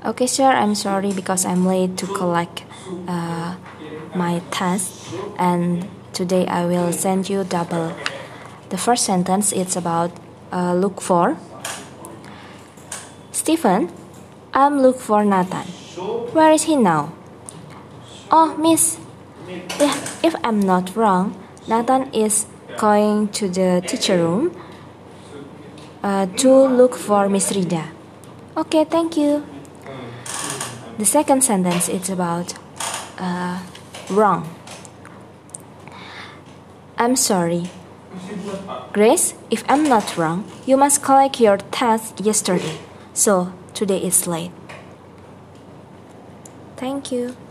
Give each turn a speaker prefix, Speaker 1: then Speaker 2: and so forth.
Speaker 1: Okay, sir, I'm sorry because I'm late to collect my test, and today I will send you double. The first sentence is about look for. Stephen, I'm look for Nathan. Where is he now? Oh, miss. Yeah, if I'm not wrong, Nathan is going to the teacher room to look for Miss Rida. Okay, thank you. The second sentence is about wrong. I'm sorry. Grace, if I'm not wrong, you must collect your test yesterday. So, today is late. Thank you.